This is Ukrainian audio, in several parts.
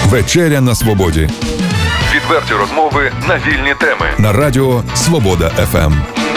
Вечеря на свободі. Відверті розмови на вільні теми. На радіо Свобода ФМ.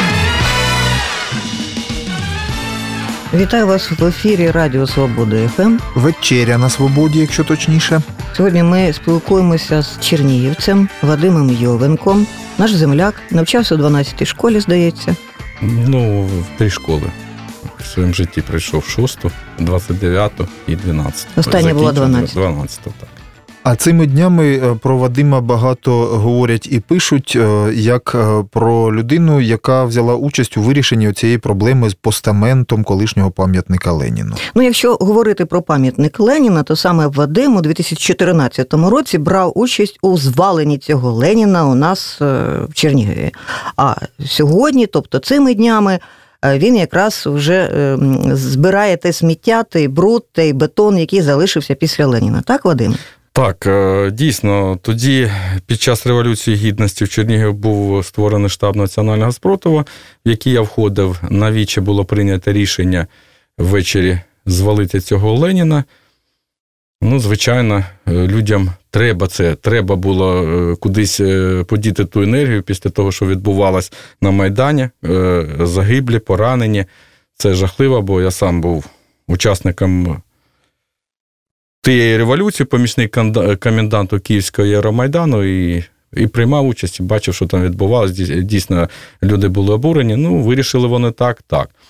Вітаю вас в ефірі Радіо Свобода ФМ. Вечеря на свободі, якщо точніше. Сьогодні ми спілкуємося з чернігівцем Вадимом Йовенком. Наш земляк, навчався у 12-й школі, здається. В 3 школи. В своєму житті пройшов 6-ту, 29-ту і 12-ту. Остання була 12-та. 12-ту, так. А цими днями про Вадима багато говорять і пишуть, як про людину, яка взяла участь у вирішенні цієї проблеми з постаментом колишнього пам'ятника Леніну. Якщо говорити про пам'ятник Леніна, то саме Вадим у 2014 році брав участь у зваленні цього Леніна у нас в Чернігові. А сьогодні, тобто цими днями, він якраз вже збирає те сміття, той бруд, той бетон, який залишився після Леніна. Так, Вадим? Так, дійсно, тоді під час Революції Гідності в Чернігові був створений штаб національного спротиву, в який я входив. Навіче було прийнято рішення ввечері звалити цього Леніна. Звичайно, людям треба було кудись подіти ту енергію після того, що відбувалось на Майдані, загиблі, поранені. Це жахливо, бо я сам був учасником тієї революції, помічник коменданту Київського Євромайдану і приймав участь, і бачив, що там відбувалося. Дійсно, люди були обурені. Вирішили вони так.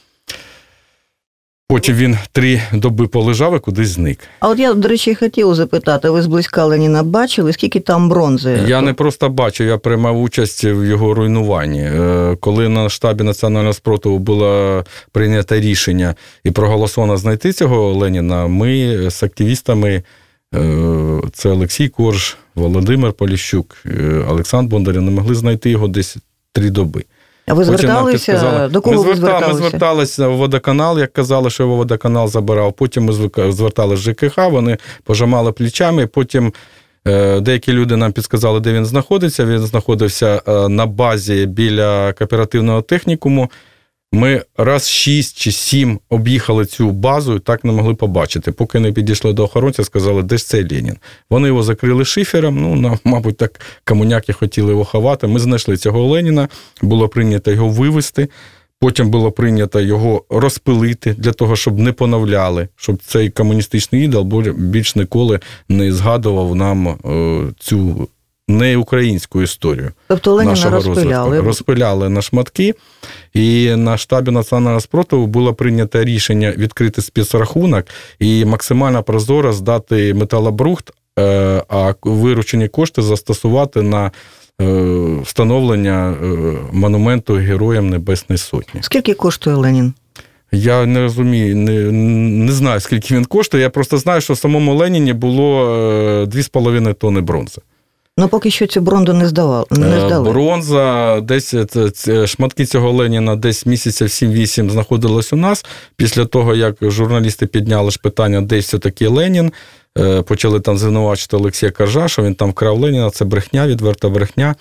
Потім він 3 доби полежав і кудись зник. А от я, до речі, хотів запитати, ви зблизька Леніна бачили, скільки там бронзи? Я не просто бачив, я приймав участь в його руйнуванні. Коли на штабі національного спротиву було прийнято рішення і проголосовано знайти цього Леніна, ми з активістами, це Олексій Корж, Володимир Поліщук, Олександр Бондарєв, не могли знайти його десь 3 доби. А ви зверталися? До кого ви зверталися? Ми зверталися в водоканал, як казали, що його водоканал забирав. Потім ми зверталися в ЖКХ, вони пожимали плечами. Потім деякі люди нам підказали, де він знаходиться. Він знаходився на базі біля кооперативного технікуму. Ми раз 6 чи 7 об'їхали цю базу і так не могли побачити. Поки не підійшли до охоронця, сказали, де ж цей Ленін. Вони його закрили шифером, мабуть, так комуняки хотіли його ховати. Ми знайшли цього Леніна, було прийнято його вивезти, потім було прийнято його розпилити для того, щоб не поновляли, щоб цей комуністичний ідол більш ніколи не згадував нам цю не українську історію. Тобто Леніна розпиляли? Розпиляли на шматки, і на штабі національного спротиву було прийнято рішення відкрити спецрахунок і максимально прозоро здати металобрухт, а виручені кошти застосувати на встановлення монументу Героям Небесної Сотні. Скільки коштує Ленін? Я не розумію, не знаю, скільки він коштує. Я просто знаю, що в самому Леніні було 2,5 тонни бронзи. Поки що цю бронзу не здали. Бронза, десь шматки цього Леніна десь місяців 7-8 знаходилось у нас. Після того, як журналісти підняли ж питання, де все-таки Ленін, почали там звинувачити Олексія Коржа, що він там вкрав Леніна, це брехня, відверта брехня.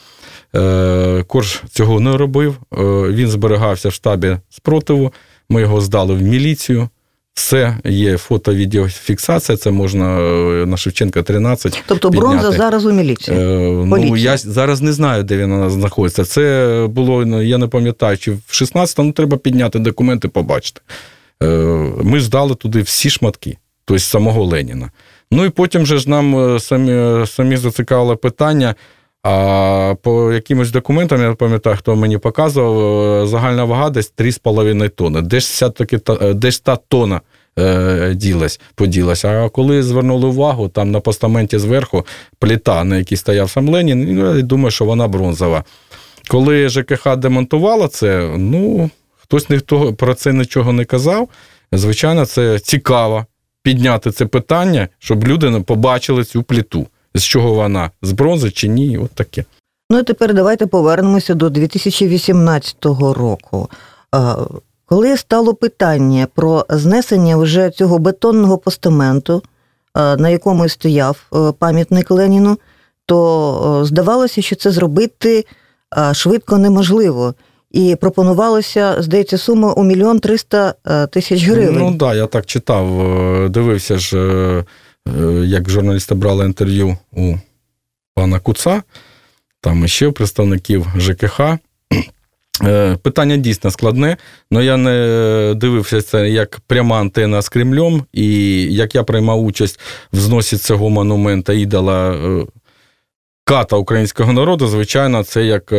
Корж цього не робив, він зберігався в штабі спротиву, ми його здали в міліцію. Все, є фото-відеофіксація, це можна на Шевченка 13 Тобто підняти. Бронза зараз у міліції? Я зараз не знаю, де він знаходиться. Це було, я не пам'ятаю, чи в 16-му треба підняти документи, побачити. Ми здали туди всі шматки, тобто самого Леніна. І потім же ж нам самі зацікавило питання, а по якимось документам, я не пам'ятаю, хто мені показував, загальна вага десь 3,5 тонни. Де ж та тонна поділась. А коли звернули увагу, там на постаменті зверху плита, на якій стояв сам Ленін, я думаю, що вона бронзова. Коли ЖКХ демонтувала це, хтось ніхто про це нічого не казав. Звичайно, це цікаво підняти це питання, щоб люди побачили цю плиту. З чого вона? З бронзи чи ні? От таке. І тепер давайте повернемося до 2018 року. Коли стало питання про знесення вже цього бетонного постаменту, на якому стояв пам'ятник Леніну, то здавалося, що це зробити швидко неможливо. І пропонувалося, здається, сума у 1 300 000 гривень. Я так читав, дивився ж як журналісти брали інтерв'ю у пана Куца, там ще представників ЖКХ. Питання дійсно складне, але я не дивився це як пряма антена з Кремлем, і як я приймав участь в зносі цього монумента ідола ката українського народу, звичайно, це як,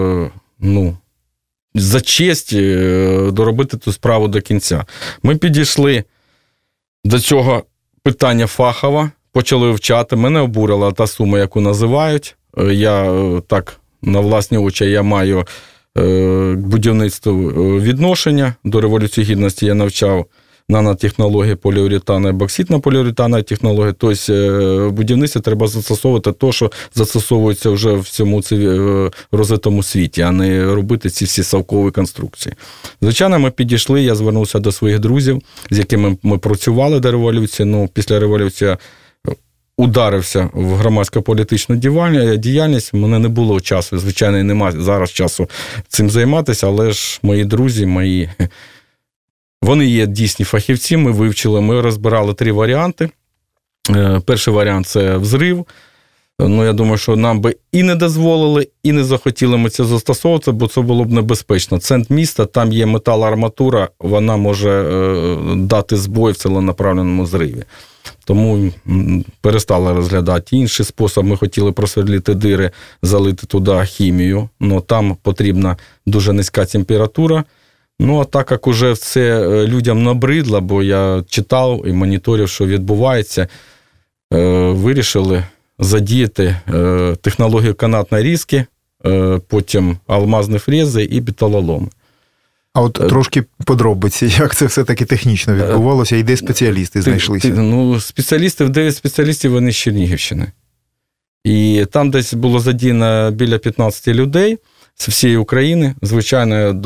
за честь доробити ту справу до кінця. Ми підійшли до цього питання фахово, почали вивчати, мене обурила та сума, яку називають. Я так, на власні очі, я маю к будівництву відношення. До Революції Гідності я навчав нанотехнології поліуретана і бокситно-поліуретана технології. Тобто в будівництві треба застосовувати те, що застосовується вже в цьому розвитому світі, а не робити ці всі совкові конструкції. Звичайно, ми підійшли, я звернувся до своїх друзів, з якими ми працювали до революції. Після революції ударився в громадсько-політичну діяльність, у мене не було часу, звичайно, і немає зараз часу цим займатися, але ж мої друзі, вони є дійсні фахівці, ми вивчили, ми розбирали 3 варіанти. Перший варіант – це взрив. Я думаю, що нам би і не дозволили, і не захотіли ми це застосовувати, бо це було б небезпечно. Центр міста, там є металоарматура, вона може дати збой в ціленаправленому зриві. Тому перестали розглядати. Інший спосіб, ми хотіли просверлити дири, залити туди хімію, але там потрібна дуже низька температура. А так як уже все людям набридло, бо я читав і моніторив, що відбувається, вирішили задіяти технологію канатної різки, потім алмазні фрези і металоломи. А от трошки подробиці, як це все-таки технічно відбувалося, і де спеціалісти знайшлися? Спеціалісти, 9 спеціалістів, вони з Чернігівщини. І там десь було задіяно біля 15 людей з всієї України. Звичайно,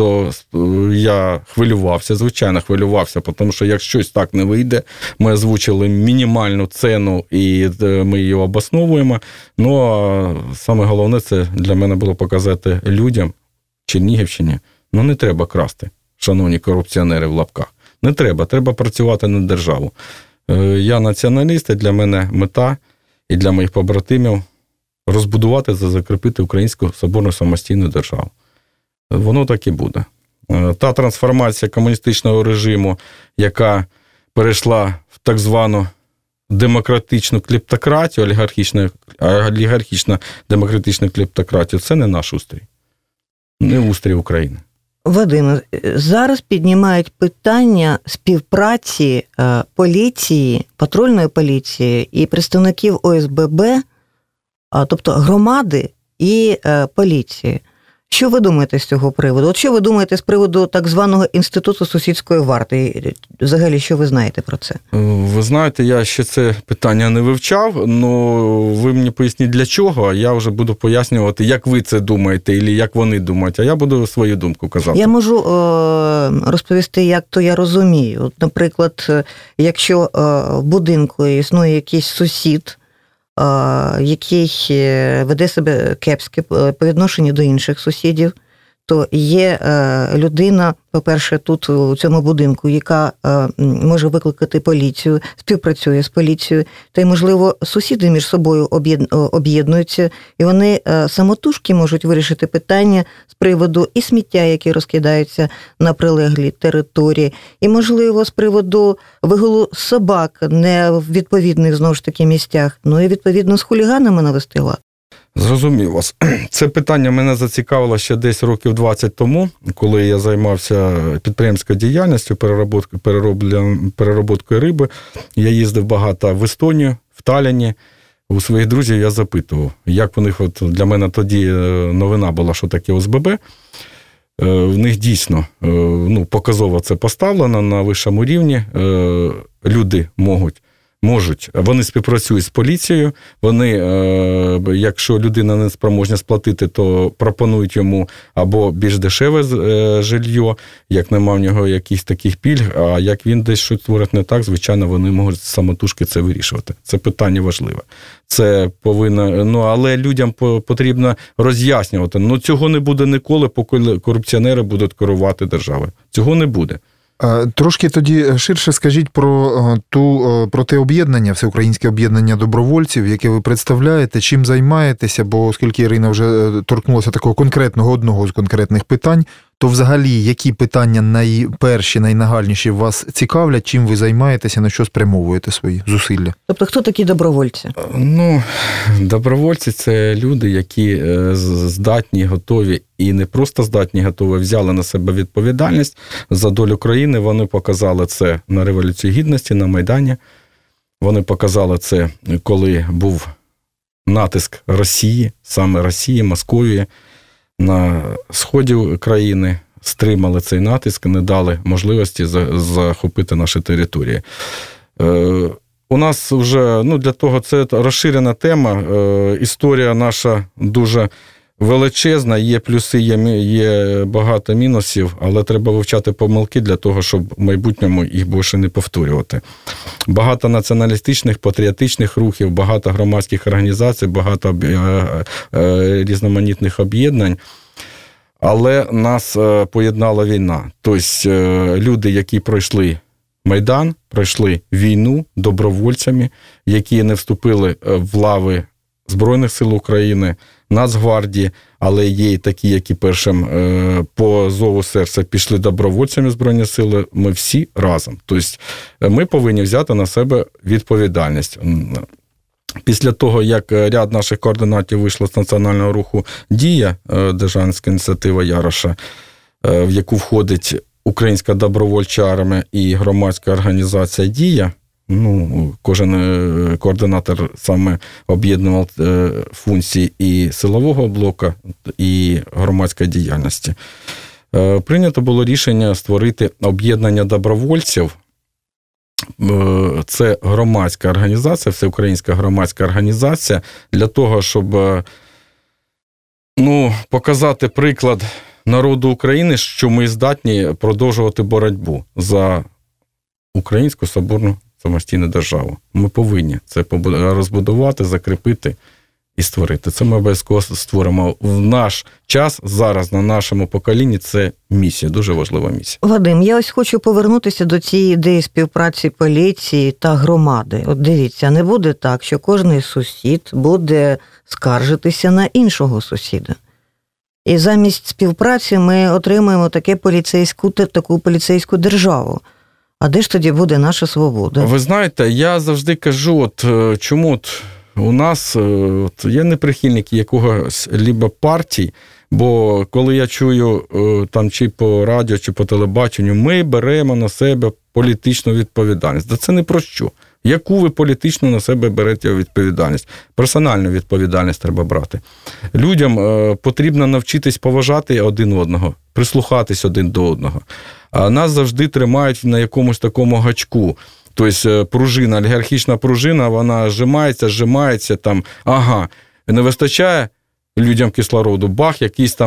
я хвилювався, тому що як щось так не вийде, ми озвучили мінімальну ціну і ми її обосновуємо. А саме головне, це для мене було показати людям в Чернігівщині, не треба красти, шановні корупціонери в лапках. Не треба, треба працювати на державу. Я націоналіст, і для мене мета, і для моїх побратимів розбудувати та закріпити українську соборну самостійну державу. Воно так і буде. Та трансформація комуністичного режиму, яка перейшла в так звану демократичну клептократію, олігархічно-демократичну клептократію, це не наш устрій. Не устрій України. Вадиме, зараз піднімають питання співпраці поліції, патрульної поліції і представників ОСББ, тобто громади і поліції. Що ви думаєте з цього приводу? От що ви думаєте з приводу так званого інституту сусідської варти? Взагалі, що ви знаєте про це? Ви знаєте, я ще це питання не вивчав, але ви мені поясніть для чого, а я вже буду пояснювати, як ви це думаєте, або як вони думають, а я буду свою думку казати. Я можу розповісти, як то я розумію. От, наприклад, якщо в будинку існує якийсь сусід, який веде себе кепськи по відношенню до інших сусідів, то є людина, по-перше, тут у цьому будинку, яка може викликати поліцію, співпрацює з поліцією, та й, можливо, сусіди між собою об'єднуються, і вони самотужки можуть вирішити питання з приводу і сміття, яке розкидається на прилеглій території, і, можливо, з приводу вигулу собак не в відповідних, знову ж таки, місцях, і, відповідно, з хуліганами навести лад. Зрозумів вас. Це питання мене зацікавило ще десь років 20 тому, коли я займався підприємською діяльністю, переробкою риби. Я їздив багато в Естонію, в Талліні. У своїх друзів я запитував, як у них, для мене тоді новина була, що таке ОСББ. В них дійсно показово це поставлено на вищому рівні. Люди можуть, вони співпрацюють з поліцією, вони, якщо людина не спроможна сплатити, то пропонують йому або більш дешеве жилье, як нема в нього якихось таких пільг, а як він десь щось творить не так, звичайно, вони можуть самотужки це вирішувати. Це питання важливе. Це повинно, але людям потрібно роз'яснювати. Цього не буде ніколи, поки корупціонери будуть керувати державою. Цього не буде. Трошки тоді ширше скажіть про те об'єднання, Всеукраїнське об'єднання добровольців, яке ви представляєте, чим займаєтеся, бо оскільки Ірина вже торкнулася такого одного з конкретних питань, то взагалі які питання найперші, найнагальніші вас цікавлять, чим ви займаєтеся, на що спрямовуєте свої зусилля? Тобто хто такі добровольці? Добровольці – це люди, які здатні, готові і не просто здатні, готові, взяли на себе відповідальність за долю країни. Вони показали це на Революції Гідності, на Майдані. Вони показали це, коли був натиск Росії, саме Росії, Московії, на сході країни, стримали цей натиск, не дали можливості захопити наші території. У нас вже, для того, це розширена тема, історія наша дуже величезна, є плюси, є багато мінусів, але треба вивчати помилки для того, щоб в майбутньому їх більше не повторювати. Багато націоналістичних, патріотичних рухів, багато громадських організацій, багато різноманітних об'єднань, але нас поєднала війна. Тобто люди, які пройшли Майдан, пройшли війну добровольцями, які не вступили в лави Збройних сил України, Нацгвардії, але є і такі, які першим по зову серця пішли добровольцями Збройні сили, ми всі разом. Тобто ми повинні взяти на себе відповідальність. Після того, як ряд наших координатів вийшло з національного руху «Дія», державницька ініціатива Яроша, в яку входить Українська добровольча армія і громадська організація «Дія», кожен координатор саме об'єднував функції і силового блоку, і громадської діяльності. Прийнято було рішення створити об'єднання добровольців. Це громадська організація, всеукраїнська громадська організація, для того, щоб показати приклад народу України, що ми здатні продовжувати боротьбу за українську соборну самостійну державу. Ми повинні це розбудувати, закріпити і створити. Це ми обов'язково створимо. В наш час, зараз, на нашому поколінні, це місія, дуже важлива місія. Вадим, я ось хочу повернутися до цієї ідеї співпраці поліції та громади. От дивіться, не буде так, що кожний сусід буде скаржитися на іншого сусіда. І замість співпраці ми отримаємо таку поліцейську державу. А де ж тоді буде наша свобода? Ви знаєте, я завжди кажу, чому у нас, я не прихильник якогось либо партій, бо коли я чую там чи по радіо, чи по телебаченню, ми беремо на себе політичну відповідальність. Да це не про що. Яку ви політично на себе берете відповідальність? Персональну відповідальність треба брати. Людям потрібно навчитись поважати один одного, прислухатись один до одного. А нас завжди тримають на якомусь такому гачку. Тобто пружина, олігархічна пружина, вона зжимається там, не вистачає людям кислороду, бах,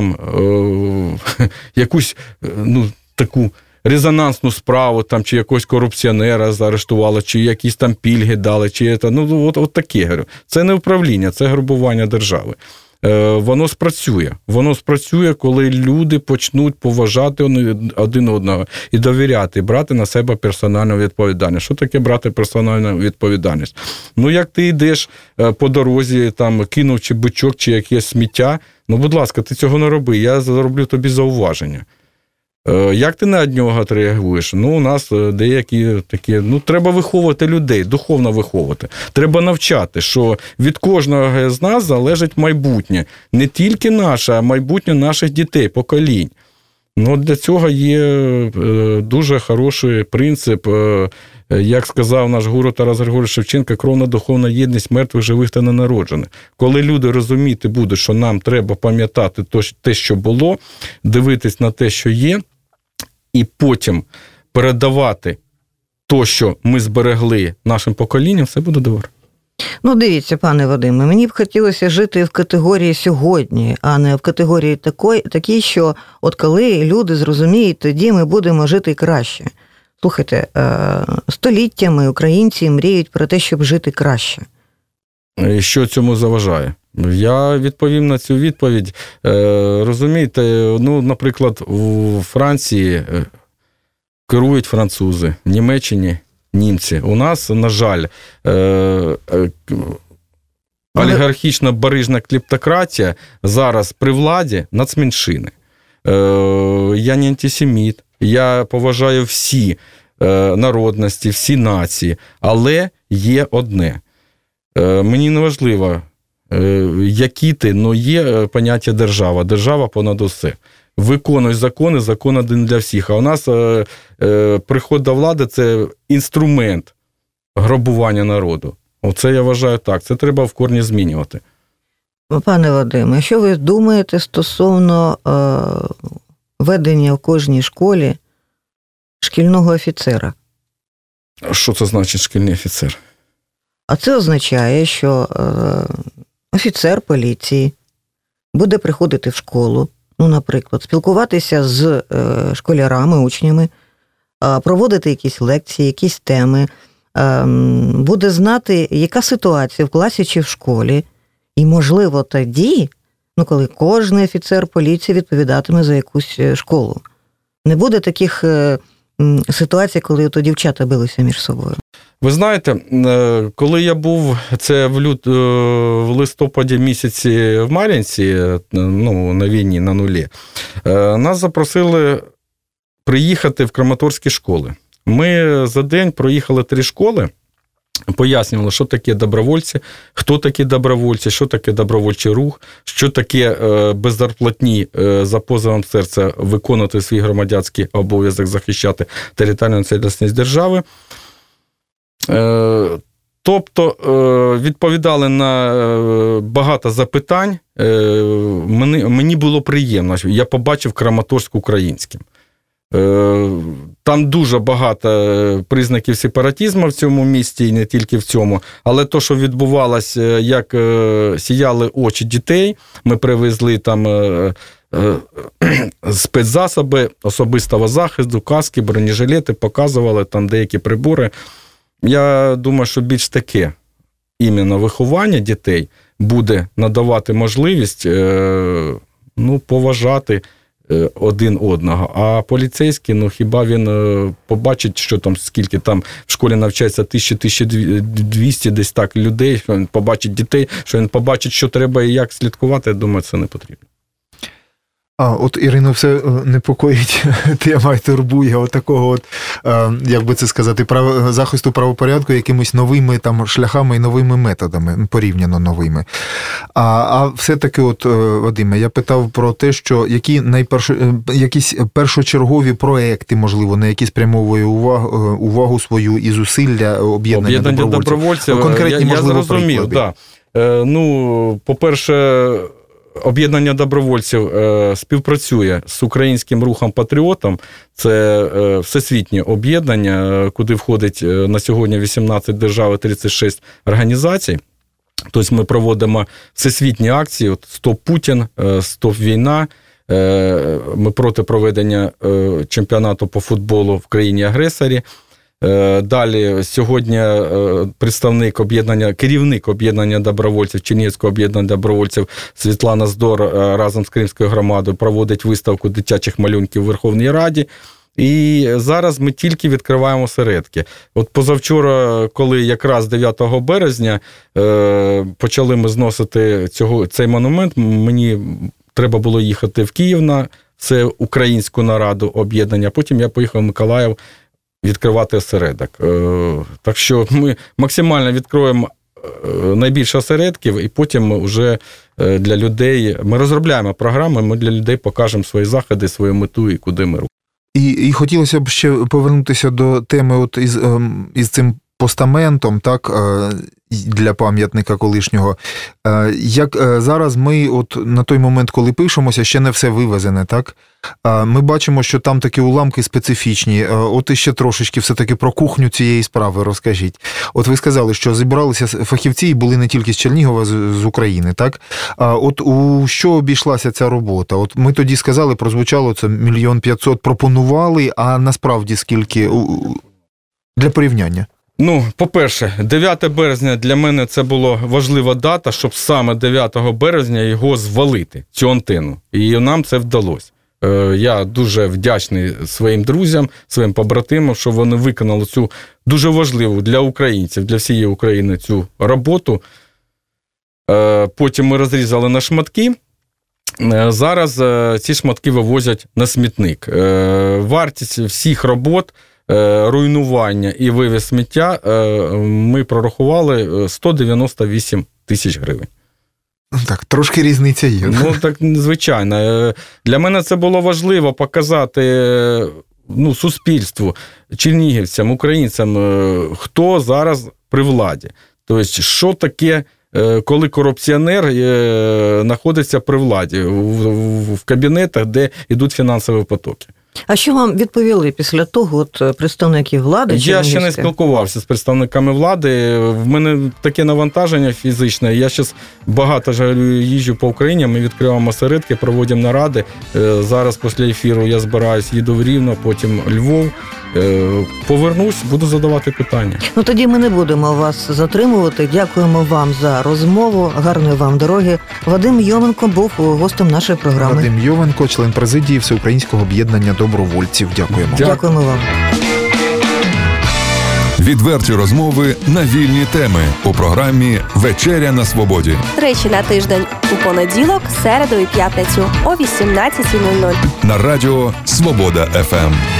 якусь таку резонансну справу, там, чи якогось корупціонера заарештували, чи якісь там пільги дали, чи от таке, говорю. Це не управління, це грабування держави. Воно спрацює, коли люди почнуть поважати один одного і довіряти, брати на себе персональну відповідальність. Що таке брати персональну відповідальність? Як ти йдеш по дорозі, там, кинув чи бичок, чи якесь сміття, будь ласка, ти цього не роби, я зроблю тобі зауваження. Як ти на нього реагуєш? У нас деякі такі, треба виховувати людей, духовно виховувати. Треба навчати, що від кожного з нас залежить майбутнє. Не тільки наше, а майбутнє наших дітей, поколінь. Для цього є дуже хороший принцип, як сказав наш гуру Тарас Григорович Шевченко, кровна духовна єдність мертвих, живих та ненароджених. Коли люди розуміти будуть, що нам треба пам'ятати те, що було, дивитись на те, що є, і потім передавати те, що ми зберегли нашим поколінням, все буде добре. Дивіться, пане Вадиме, мені б хотілося жити в категорії сьогодні, а не в категорії такій, що от коли люди зрозуміють, тоді ми будемо жити краще. Слухайте, століттями українці мріють про те, щоб жити краще. І що цьому заважає? Я відповім на цю відповідь. Розумієте, наприклад, у Франції керують французи, в Німеччині німці. У нас, на жаль, олігархічна барижна клептократія зараз при владі нацменшини. Я не антисеміт, я поважаю всі народності, всі нації, але є одне. Мені не важливо, які ти, але є поняття держава. Держава понад усе. Виконуй закони, закон один для всіх. А у нас приход до влади – це інструмент грабування народу. Оце я вважаю так. Це треба в корні змінювати. Пане Вадиме, що ви думаєте стосовно ведення в кожній школі шкільного офіцера? Що це значить шкільний офіцер? А це означає, що офіцер поліції буде приходити в школу, наприклад, спілкуватися з школярами, учнями, проводити якісь лекції, якісь теми, буде знати, яка ситуація в класі чи в школі, і, можливо, тоді, коли кожен офіцер поліції відповідатиме за якусь школу. Не буде таких ситуацій, коли то дівчата билися між собою. Ви знаєте, коли я був, це в листопаді місяці в Мар'їнці, на війні, на нулі, нас запросили приїхати в краматорські школи. Ми за день проїхали 3 школи, пояснювали, що таке добровольці, хто такі добровольці, що таке добровольчий рух, що таке беззарплатні за позовом серця виконувати свій громадянський обов'язок захищати територіальну цілісність держави. Тобто відповідали на багато запитань. Мені було приємно, я побачив Краматорськ українським. Там дуже багато признаків сепаратизму в цьому місті, і не тільки в цьому, але то, що відбувалося, як сіяли очі дітей, ми привезли там спецзасоби особистого захисту, каски, бронежилети, показували там деякі прибори. Я думаю, що більш таке іменно виховання дітей буде надавати можливість поважати один одного. А поліцейський, хіба він побачить, що там, скільки там в школі навчається 1000-1200 десь так людей, що він побачить дітей, що він побачить, що треба і як слідкувати, я думаю, це не потрібно. От Ірину все непокоїть, тема турбує такого, як би це сказати, захисту правопорядку якимись новими там шляхами і новими методами, порівняно новими. А все-таки, Вадиме, я питав про те, що якісь першочергові проекти, можливо, на які спрямовує увагу свою і зусилля об'єднання добровольців. Конкретні, можливо, я зрозумів, так. По-перше, об'єднання добровольців співпрацює з українським рухом «Патріотом». Це всесвітнє об'єднання, куди входить на сьогодні 18 держав і 36 організацій. Тобто ми проводимо всесвітні акції «Стоп Путін», «Стоп війна». Ми проти проведення чемпіонату по футболу в країні-агресорі. Далі сьогодні керівник об'єднання добровольців, Чернігівського об'єднання добровольців Світлана Здор разом з Кримською громадою проводить виставку дитячих малюнків у Верховній Раді. І зараз ми тільки відкриваємо осередки. Позавчора, коли якраз 9 березня почали ми зносити цей монумент, мені треба було їхати в Київ на це українську нараду об'єднання, потім я поїхав в Миколаїв відкривати осередок. Так що ми максимально відкроємо найбільше осередків, і потім вже для людей, ми розробляємо програми, ми для людей покажемо свої заходи, свою мету і куди ми рухаємо. І хотілося б ще повернутися до теми із цим постаментом, так, для пам'ятника колишнього. Як зараз ми на той момент, коли пишемося, ще не все вивезене, так? Ми бачимо, що там такі уламки специфічні. Іще трошечки все-таки про кухню цієї справи розкажіть. Ви сказали, що зібралися фахівці і були не тільки з Чернігова, з України, так? У що обійшлася ця робота? Ми тоді сказали, прозвучало це 1 500 000 пропонували, а насправді скільки? Для порівняння. По-перше, 9 березня для мене це була важлива дата, щоб саме 9 березня його звалити, цю антенну. І нам це вдалося. Я дуже вдячний своїм друзям, своїм побратимам, що вони виконали цю дуже важливу для українців, для всієї України цю роботу. Потім ми розрізали на шматки. Зараз ці шматки вивозять на смітник. Вартість всіх робот, руйнування і вивіз сміття ми прорахували 198 тисяч гривень. Так, трошки різниця є. Ну, так, звичайно. Для мене це було важливо показати суспільству, чернігівцям, українцям, хто зараз при владі. Тобто, що таке, коли корупціонер знаходиться при владі, в кабінетах, де йдуть фінансові потоки. А що вам відповіли після того представники влади? Я ще не спілкувався з представниками влади. В мене таке навантаження фізичне. Я зараз багато їжджу по Україні, ми відкриваємо осередки, проводимо наради. Зараз після ефіру я збираюсь, їду в Рівно, потім Львов. Повернусь, буду задавати питання. Тоді ми не будемо вас затримувати. Дякуємо вам за розмову. Гарної вам дороги. Вадим Йовенко був гостем нашої програми. Вадим Йовенко, член президії Всеукраїнського об'єднання добровольців. Дякуємо. Дякуємо вам. Відверті розмови на вільні теми у програмі «Вечеря на свободі». Тричі на тиждень у понеділок, середу і п'ятницю о 18:00. На радіо «Свобода ФМ».